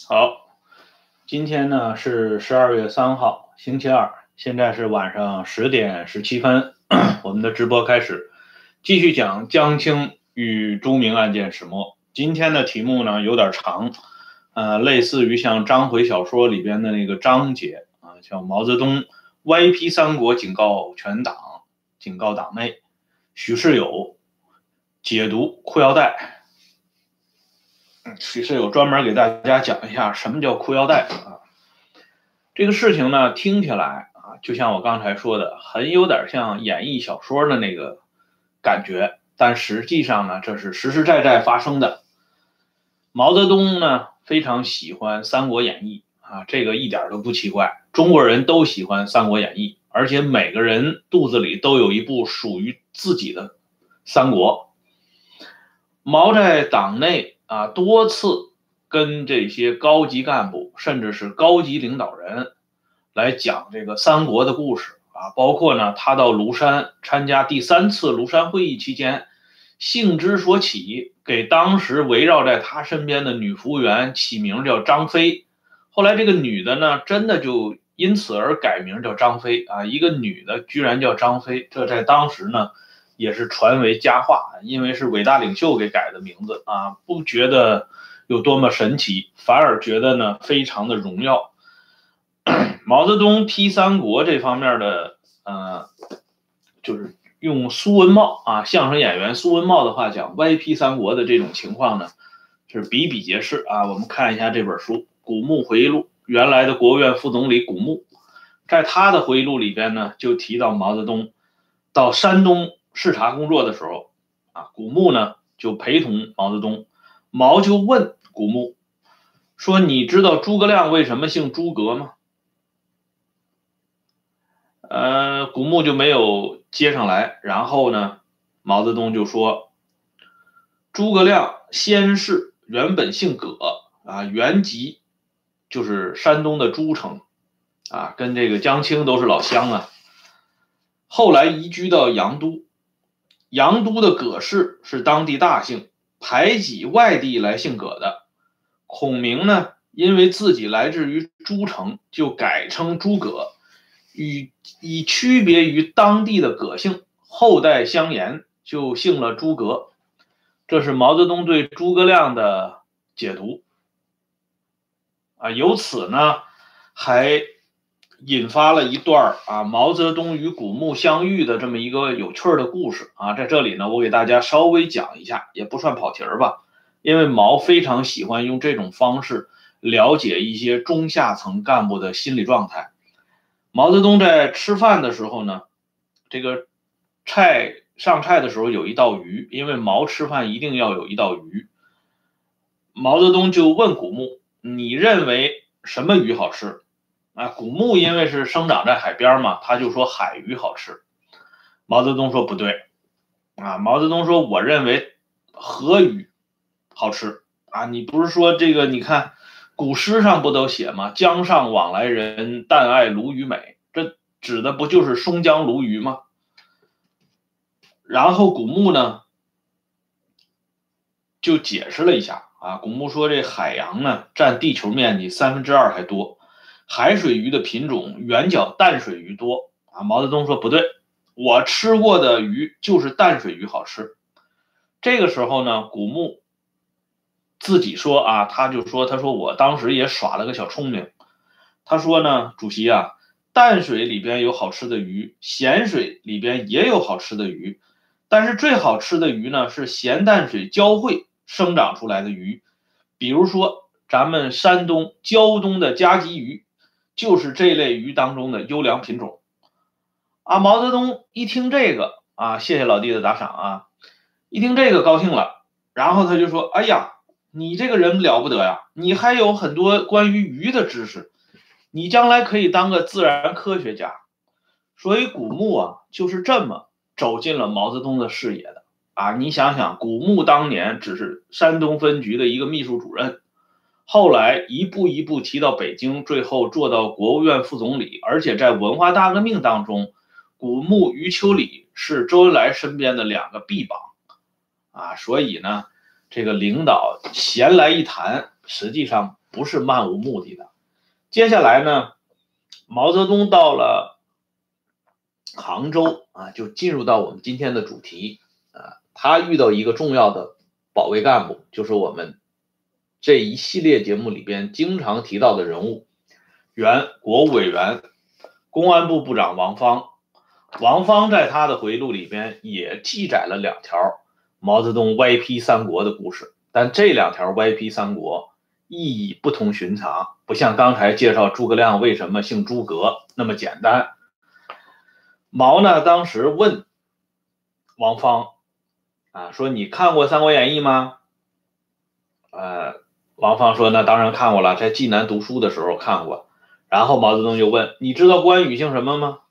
好，今天呢是12月3号，星期二，现在是晚上10点17分，我们的直播开始，继续讲江青与朱明案件始末。今天的题目呢有点长，类似于像章回小说里边的那个章节啊，像毛泽东歪批三国，警告全党，警告党内，许世友解读裤腰带。许世友专门给大家讲一下什么叫裤腰带啊。这个事情呢，听起来啊，就像我刚才说的，很有点像演绎小说的那个感觉，但实际上呢，这是实实在在发生的。毛泽东呢，非常喜欢《三国演义》啊，这个一点都不奇怪，中国人都喜欢《三国演义》，而且每个人肚子里都有一部属于自己的三国。毛在党内啊多次跟这些高级干部甚至是高级领导人来讲这个三国的故事啊，包括呢他到庐山参加第3次庐山会议期间，兴之所起，给当时围绕在他身边的女服务员起名叫张飞，后来这个女的呢真的就因此而改名叫张飞啊，一个女的居然叫张飞，这在当时呢也是传为佳话，因为是伟大领袖给改的名字啊，不觉得有多么神奇，反而觉得呢非常的荣耀。毛泽东批三国这方面的就是用苏文茂啊相声演员苏文茂的话讲，歪批三国的这种情况呢是比比皆是啊。我们看一下这本书《古牧回忆录》，原来的国务院副总理古牧，在他的回忆录里边呢就提到毛泽东到山东视察工作的时候啊，古牧呢就陪同毛泽东，毛就问古牧说：“你知道诸葛亮为什么姓诸葛吗？”古牧就没有接上来，然后呢，毛泽东就说：“诸葛亮先是原本姓葛啊，原籍就是山东的诸城啊，跟这个江青都是老乡啊。后来移居到杨都，杨都的葛氏是当地大姓，排挤外地来姓葛的。孔明呢，因为自己来自于诸城，就改称诸葛，以区别于当地的葛姓，后代相沿，就姓了诸葛。”这是毛泽东对诸葛亮的解读啊。由此呢，还引发了一段毛泽东与古牧相遇的这么一个有趣的故事啊。在这里呢，我给大家稍微讲一下，也不算跑题儿吧，因为毛非常喜欢用这种方式了解一些中下层干部的心理状态。毛泽东在吃饭的时候呢，这个上菜的时候有一道鱼，因为毛吃饭一定要有一道鱼。毛泽东就问古牧：“你认为什么鱼好吃？”啊，古牧因为是生长在海边嘛，他就说海鱼好吃。毛泽东说不对，啊，毛泽东说我认为河鱼好吃啊。你不是说这个？你看古诗上不都写吗？江上往来人，但爱鲈鱼美，这指的不就是松江鲈鱼吗？然后古牧呢就解释了一下啊，古牧说这海洋呢占地球面积2/3还多，海水鱼的品种远较淡水鱼多啊。毛泽东说不对，我吃过的鱼就是淡水鱼好吃。这个时候呢，古牧自己说啊，他说我当时也耍了个小聪明，他说呢，主席啊，淡水里边有好吃的鱼，咸水里边也有好吃的鱼。但是最好吃的鱼呢，是咸淡水交汇生长出来的鱼，比如说咱们山东胶东的夹鲫鱼，就是这类鱼当中的优良品种啊。毛泽东一听这个啊，谢谢老弟的打赏啊，一听这个高兴了，然后他就说：“哎呀，你这个人了不得呀，你还有很多关于鱼的知识，你将来可以当个自然科学家。”所以古牧啊，就是这么走进了毛泽东的视野的啊！你想想，古牧当年只是山东分局的一个秘书主任，后来一步一步提到北京，最后做到国务院副总理，而且在文化大革命当中，古牧、余秋里是周恩来身边的2个臂膀啊！所以呢，这个领导闲来一谈，实际上不是漫无目的的。接下来呢，毛泽东到了杭州啊，就进入到我们今天的主题啊，他遇到一个重要的保卫干部，就是我们这一系列节目里边经常提到的人物，原国务委员、公安部部长王芳。王芳在他的回忆录里边也记载了2条毛泽东歪批三国的故事，但这2条歪批三国意义不同寻常，不像刚才介绍诸葛亮为什么姓诸葛那么简单。毛呢当时问王芳啊，说你看过《三国演义》吗？王芳说那当然看过了，在济南读书的时候看过。然后毛泽东就问你知道关羽姓什么吗？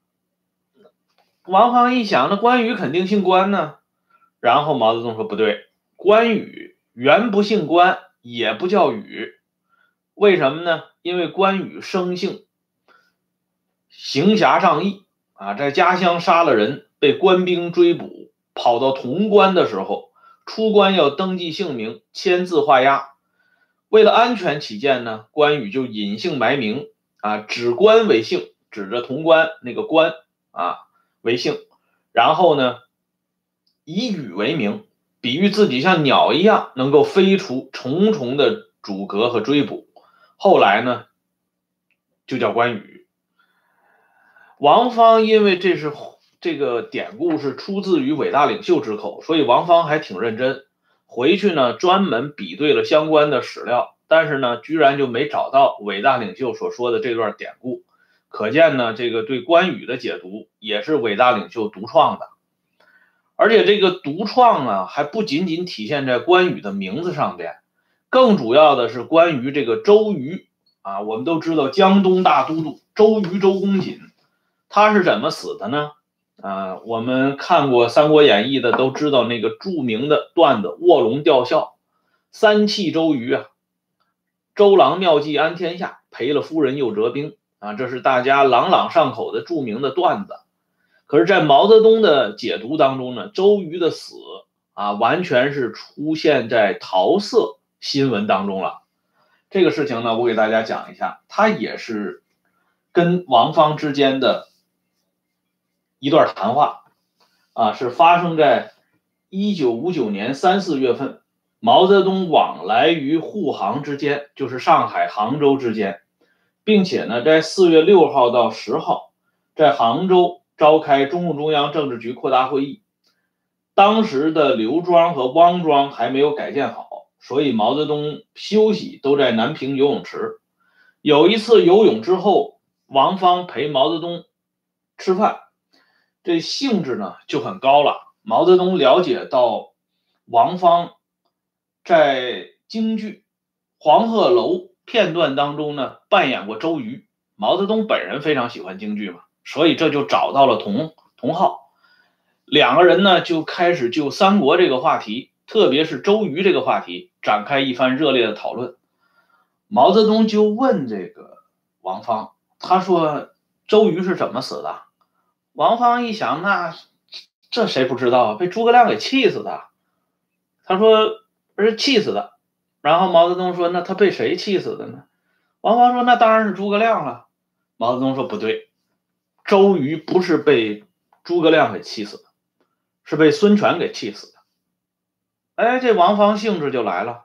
王芳一想，那关羽肯定姓关呢。然后毛泽东说不对，关羽原不姓关，也不叫羽。为什么呢？因为关羽生性行侠仗义啊，在家乡杀了人，被官兵追捕，跑到潼关的时候，出关要登记姓名，签字画押。为了安全起见呢，关羽就隐姓埋名啊，指关为姓，指着潼关那个关啊为姓，然后呢以羽为名，比喻自己像鸟一样能够飞出重重的阻隔和追捕。后来呢就叫关羽。王芳因为这个典故是出自于伟大领袖之口，所以王芳还挺认真，回去呢专门比对了相关的史料，但是呢居然就没找到伟大领袖所说的这段典故。可见呢这个对关羽的解读也是伟大领袖独创的。而且这个独创啊还不仅仅体现在关羽的名字上边，更主要的是关于这个周瑜啊。我们都知道江东大都督周瑜周公瑾，他是怎么死的呢？我们看过《三国演义》的都知道那个著名的段子卧龙吊孝，三气周瑜啊，周郎妙计安天下，赔了夫人又折兵啊，这是大家朗朗上口的著名的段子。可是在毛泽东的解读当中呢，周瑜的死啊完全是出现在桃色新闻当中了。这个事情呢我给大家讲一下，它也是跟王芳之间的一段谈话啊，是发生在1959年3、4月份，毛泽东往来于沪杭之间，就是上海、杭州之间，并且呢，在4月6号到10号，在杭州召开中共中央政治局扩大会议。当时的刘庄和汪庄还没有改建好，所以毛泽东休息都在南平游泳池。有一次游泳之后，王芳陪毛泽东吃饭，这兴致呢就很高了。毛泽东了解到王芳在京剧黄鹤楼片段当中呢扮演过周瑜，毛泽东本人非常喜欢京剧嘛，所以这就找到了同好。2个人呢就开始就三国这个话题，特别是周瑜这个话题展开一番热烈的讨论。毛泽东就问这个王芳，他说周瑜是怎么死的？王芳一想，那这谁不知道啊？被诸葛亮给气死的。他说是气死的。然后毛泽东说那他被谁气死的呢？王芳说那当然是诸葛亮了。毛泽东说不对，周瑜不是被诸葛亮给气死的，是被孙权给气死的。哎，这王芳兴致就来了，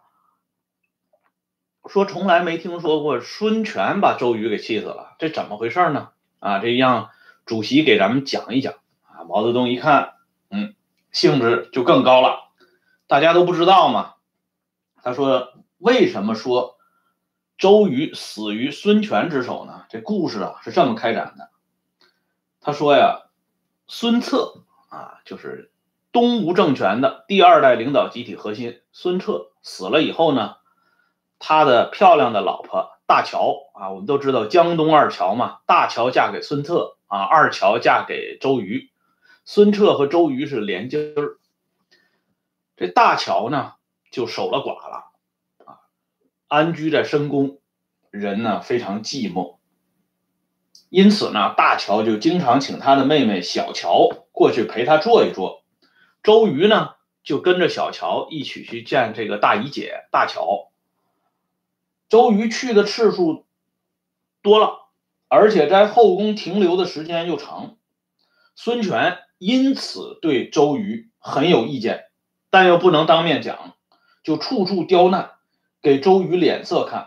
说从来没听说过孙权把周瑜给气死了，这怎么回事呢？啊，这让主席给咱们讲一讲啊。毛泽东一看，兴致就更高了。大家都不知道嘛。他说为什么说周瑜死于孙权之手呢？这故事啊是这么开展的。他说呀，孙策啊，就是东吴政权的第2代领导集体核心。孙策死了以后呢，他的漂亮的老婆大乔啊，我们都知道江东2乔嘛，大乔嫁给孙策啊，2乔嫁给周瑜，孙策和周瑜是连襟儿。这大乔呢就守了寡了啊，安居在深宫，人呢非常寂寞。因此呢，大乔就经常请他的妹妹小乔过去陪他坐一坐。周瑜呢就跟着小乔一起去见这个大姨姐大乔。 周瑜去的次数多了，而且在后宫停留的时间又长，孙权因此对周瑜很有意见，但又不能当面讲，就处处刁难，给周瑜脸色看。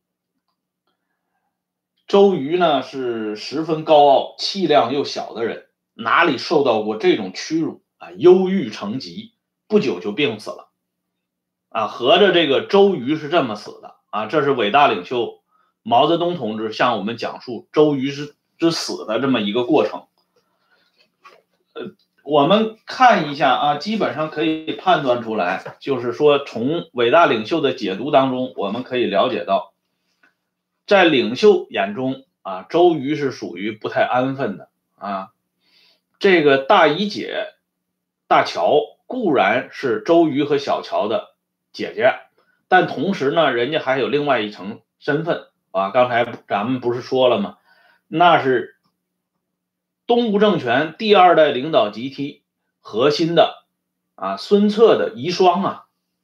周瑜呢是十分高傲、气量又小的人，哪里受到过这种屈辱啊？忧郁成疾，不久就病死了。啊，合着这个周瑜是这么死的啊！这是伟大领袖毛泽东同志向我们讲述周瑜之死的这么一个过程。我们看一下啊，基本上可以判断出来，就是说从伟大领袖的解读当中，我们可以了解到，在领袖眼中啊，周瑜是属于不太安分的啊。这个大姨姐大乔固然是周瑜和小乔的姐姐，但同时呢，人家还有另外一层身份啊。刚才咱们不是说了吗？那是东吴政权第二代领导集体核心的啊孙策的遗孀啊，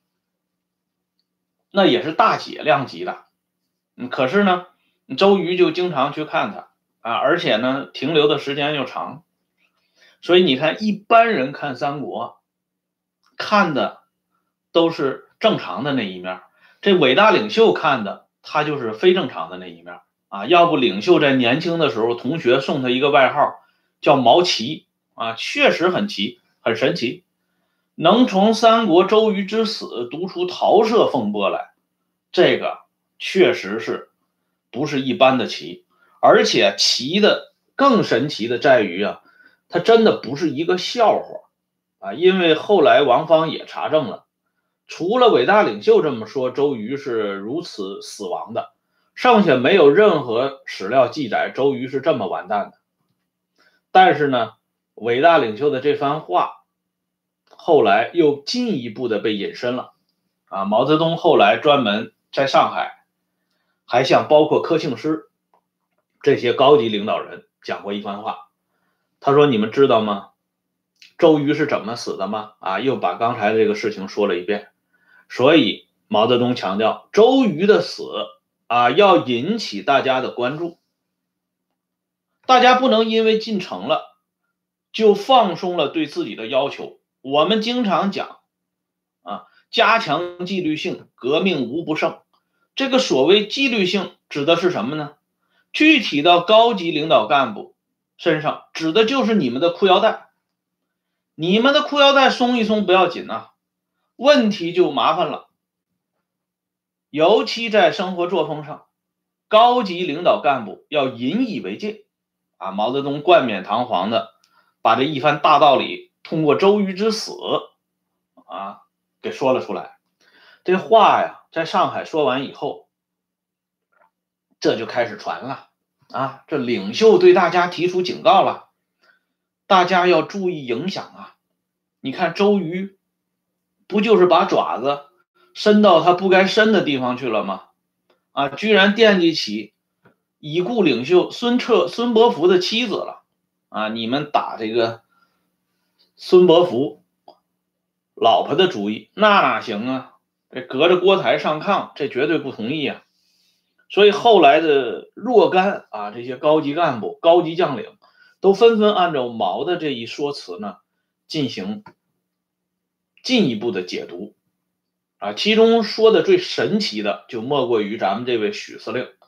那也是大姐量级的。可是呢，周瑜就经常去看他啊，而且呢，停留的时间又长，所以你看，一般人看三国，看的都是正常的那一面，这伟大领袖看的他就是非正常的那一面啊。要不领袖在年轻的时候，同学送他一个外号叫毛奇啊，确实很奇，很神奇，能从三国周瑜之死读出桃色风波来，这个确实是不是一般的奇，而且奇的更神奇的在于啊，它真的不是一个笑话啊，因为后来王芳也查证了，除了伟大领袖这么说周瑜是如此死亡的，剩下没有任何史料记载周瑜是这么完蛋的。但是呢，伟大领袖的这番话后来又进一步的被引申了啊。毛泽东后来专门在上海还向包括柯庆施这些高级领导人讲过一番话，他说：“你们知道吗？周瑜是怎么死的吗？”啊，又把刚才这个事情说了一遍。所以毛泽东强调，周瑜的死啊，要引起大家的关注，大家不能因为进城了就放松了对自己的要求。我们经常讲啊，加强纪律性，革命无不胜。这个所谓纪律性指的是什么呢？具体到高级领导干部身上，指的就是你们的裤腰带。你们的裤腰带松一松不要紧啊，问题就麻烦了。尤其在生活作风上，高级领导干部要引以为戒啊。毛泽东冠冕堂皇的把这一番大道理通过周瑜之死啊给说了出来。这话呀，在上海说完以后，这就开始传了啊，这领袖对大家提出警告了，大家要注意影响啊。你看周瑜不就是把爪子伸到他不该伸的地方去了吗？啊，居然惦记起已故领袖孙伯符的妻子了啊！你们打这个孙伯符老婆的主意，那哪行啊？这隔着锅台上炕，这绝对不同意啊！所以后来的若干啊，这些高级干部、高级将领都纷纷按照毛的这一说辞呢，进行进一步的解读啊。其中说的最神奇的，就莫过于咱们这位许司令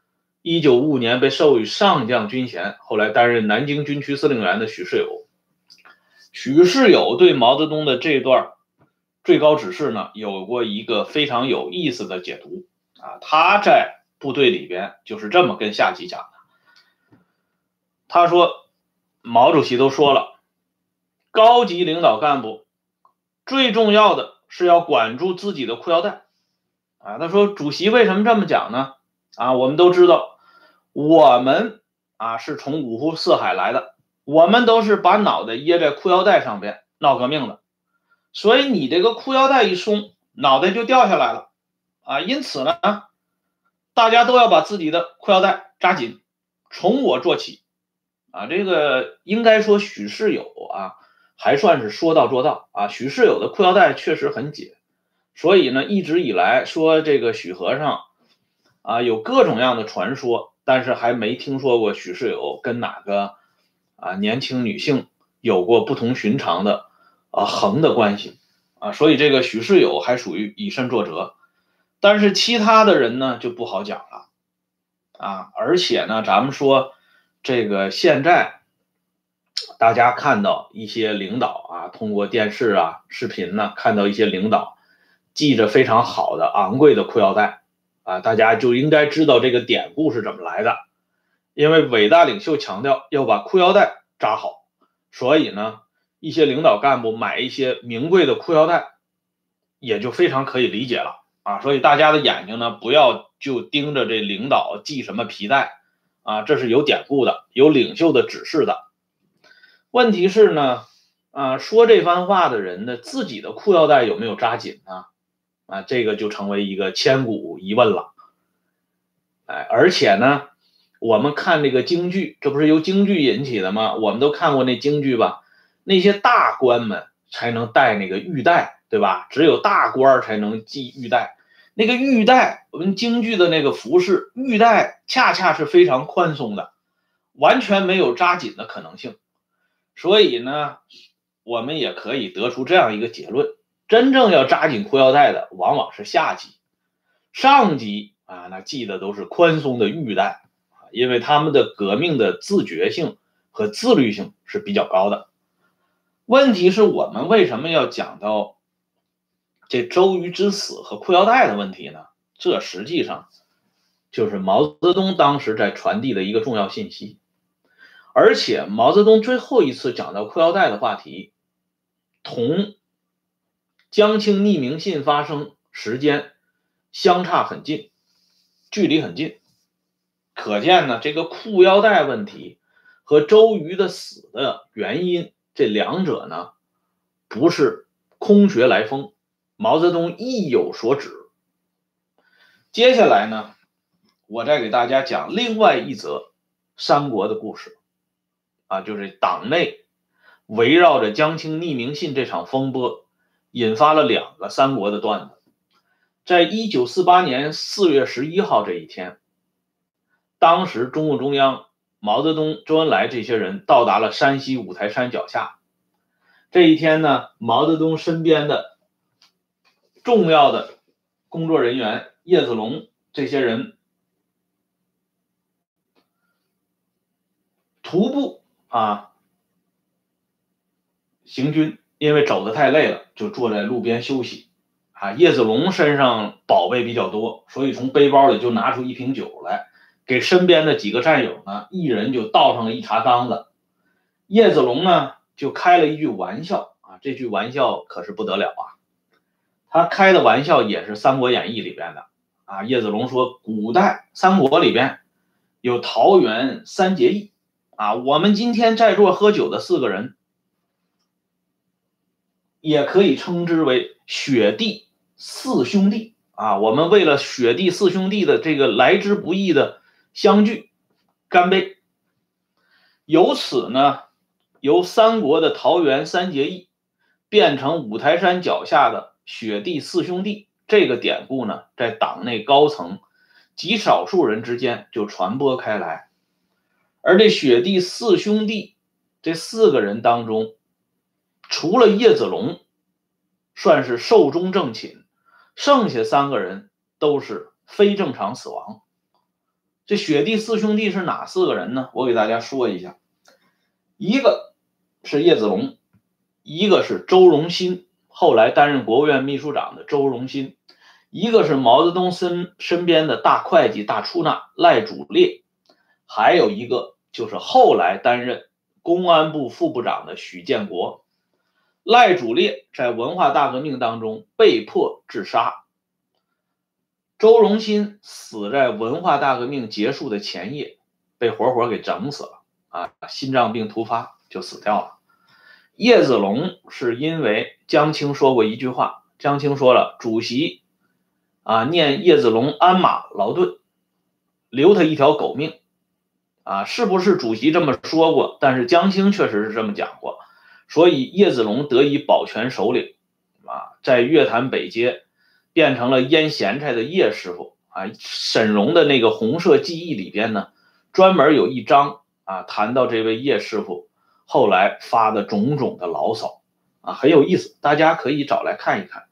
，1955年被授予上将军衔，后来担任南京军区司令员的许世友。许世友对毛泽东的这段最高指示呢，有过一个非常有意思的解读啊。他在部队里边就是这么跟下级讲的，他说毛主席都说了，高级领导干部最重要的是要管住自己的裤腰带啊。他说主席为什么这么讲呢？啊，我们都知道，我们啊是从五湖四海来的，我们都是把脑袋掖在裤腰带上边闹革命的，所以你这个裤腰带一松，脑袋就掉下来了啊。因此呢，大家都要把自己的裤腰带扎紧，从我做起啊。这个应该说许世友啊，还算是说到做到啊。许世友的裤腰带确实很紧，所以呢，一直以来说这个许和尚有各种各样的传说，但是还没听说过许世友跟哪个年轻女性有过不同寻常的横的关系所以这个许世友还属于以身作则，但是其他的人呢就不好讲了而且呢，咱们说这个现在大家看到一些领导通过电视视频呢，看到一些领导系着非常好的昂贵的裤腰带大家就应该知道这个典故是怎么来的。因为伟大领袖强调要把裤腰带扎好，所以呢，一些领导干部买一些名贵的裤腰带，也就非常可以理解了所以大家的眼睛呢，不要就盯着这领导系什么皮带这是有典故的，有领袖的指示的。问题是呢，说这番话的人呢，自己的裤腰带有没有扎紧呢？这个就成为一个千古疑问了。而且呢，我们看这个京剧，这不是由京剧引起的吗？我们都看过那京剧吧？那些大官们才能戴那个玉带，对吧？只有大官才能系玉带。那个玉带，我们京剧的那个服饰，玉带恰恰是非常宽松的，完全没有扎紧的可能性。所以呢，我们也可以得出这样一个结论：真正要扎紧裤腰带的，往往是下级，上级那系的都是宽松的玉带因为他们的革命的自觉性和自律性是比较高的。问题是我们为什么要讲到这周瑜之死和裤腰带的问题呢？这实际上就是毛泽东当时在传递的一个重要信息。而且毛泽东最后一次讲到裤腰带的话题，同江青匿名信发生时间相差很近，距离很近。可见呢，这个裤腰带问题和周瑜的死的原因，这两者呢不是空穴来风，毛泽东意有所指。接下来呢，我再给大家讲另外一则三国的故事就是党内围绕着江青匿名信这场风波，引发了2个三国的段子。在1948年4月11号这一天，当时中共中央毛泽东、周恩来这些人到达了山西五台山脚下。这一天呢，毛泽东身边的重要的工作人员叶子龙这些人徒步行军，因为走得太累了，就坐在路边休息叶子龙身上宝贝比较多，所以从背包里就拿出一瓶酒来，给身边的几个战友呢，一人就倒上了一茶缸子。叶子龙呢就开了一句玩笑这句玩笑可是不得了他开的玩笑也是《三国演义》里边的叶子龙说，古代三国里边有桃园三结义我们今天在座喝酒的4个人，也可以称之为雪地4兄弟我们为了雪地4兄弟的这个来之不易的相聚，干杯。由此呢，由三国的桃园三结义变成五台山脚下的雪地4兄弟，这个典故呢，在党内高层极少数人之间就传播开来。而这雪地4兄弟这4个人当中，除了叶子龙算是寿终正寝，剩下3个人都是非正常死亡。这雪地4兄弟是哪4个人呢？我给大家说一下。一个是叶子龙，一个是周荣新，后来担任国务院秘书长的周荣新，一个是毛泽东身边的大会计大出纳赖主烈，还有一个就是后来担任公安部副部长的许建国。赖主烈在文化大革命当中被迫自杀，周荣新死在文化大革命结束的前夜，被活活给整死了心脏病突发就死掉了。叶子龙是因为江青说过一句话，江青说了，主席念叶子龙鞍马劳顿，留他一条狗命是不是主席这么说过？但是江青确实是这么讲过，所以叶子龙得以保全首领在月坛北街变成了腌咸菜的叶师傅沈荣的那个红色记忆里边呢，专门有一章谈到这位叶师傅后来发的种种的牢骚很有意思，大家可以找来看一看。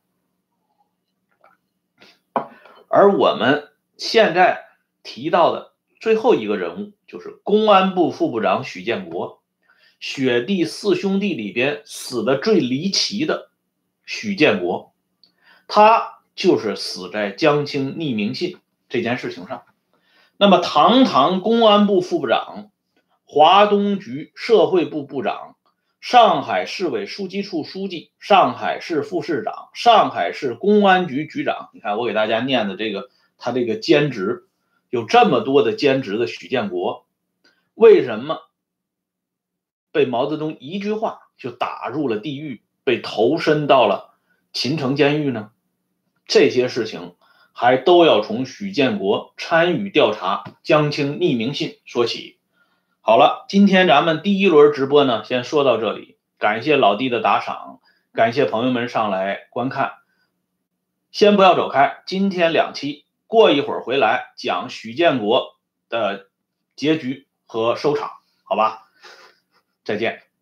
而我们现在提到的最后一个人物就是公安部副部长许建国，雪地四兄弟里边死的最离奇的许建国，他就是死在江青匿名信这件事情上。那么堂堂公安部副部长、华东局社会部部长、上海市委书记处书记、上海市副市长、上海市公安局局长，你看我给大家念的他这个兼职有这么多的兼职的许建国，为什么被毛泽东一句话就打入了地狱，被投身到了秦城监狱呢？这些事情还都要从许建国参与调查江青匿名信说起。好了，今天咱们第一轮直播呢，先说到这里，感谢老弟的打赏，感谢朋友们上来观看。先不要走开，今天2期，过一会儿回来讲许建国的结局和收场，好吧？再见。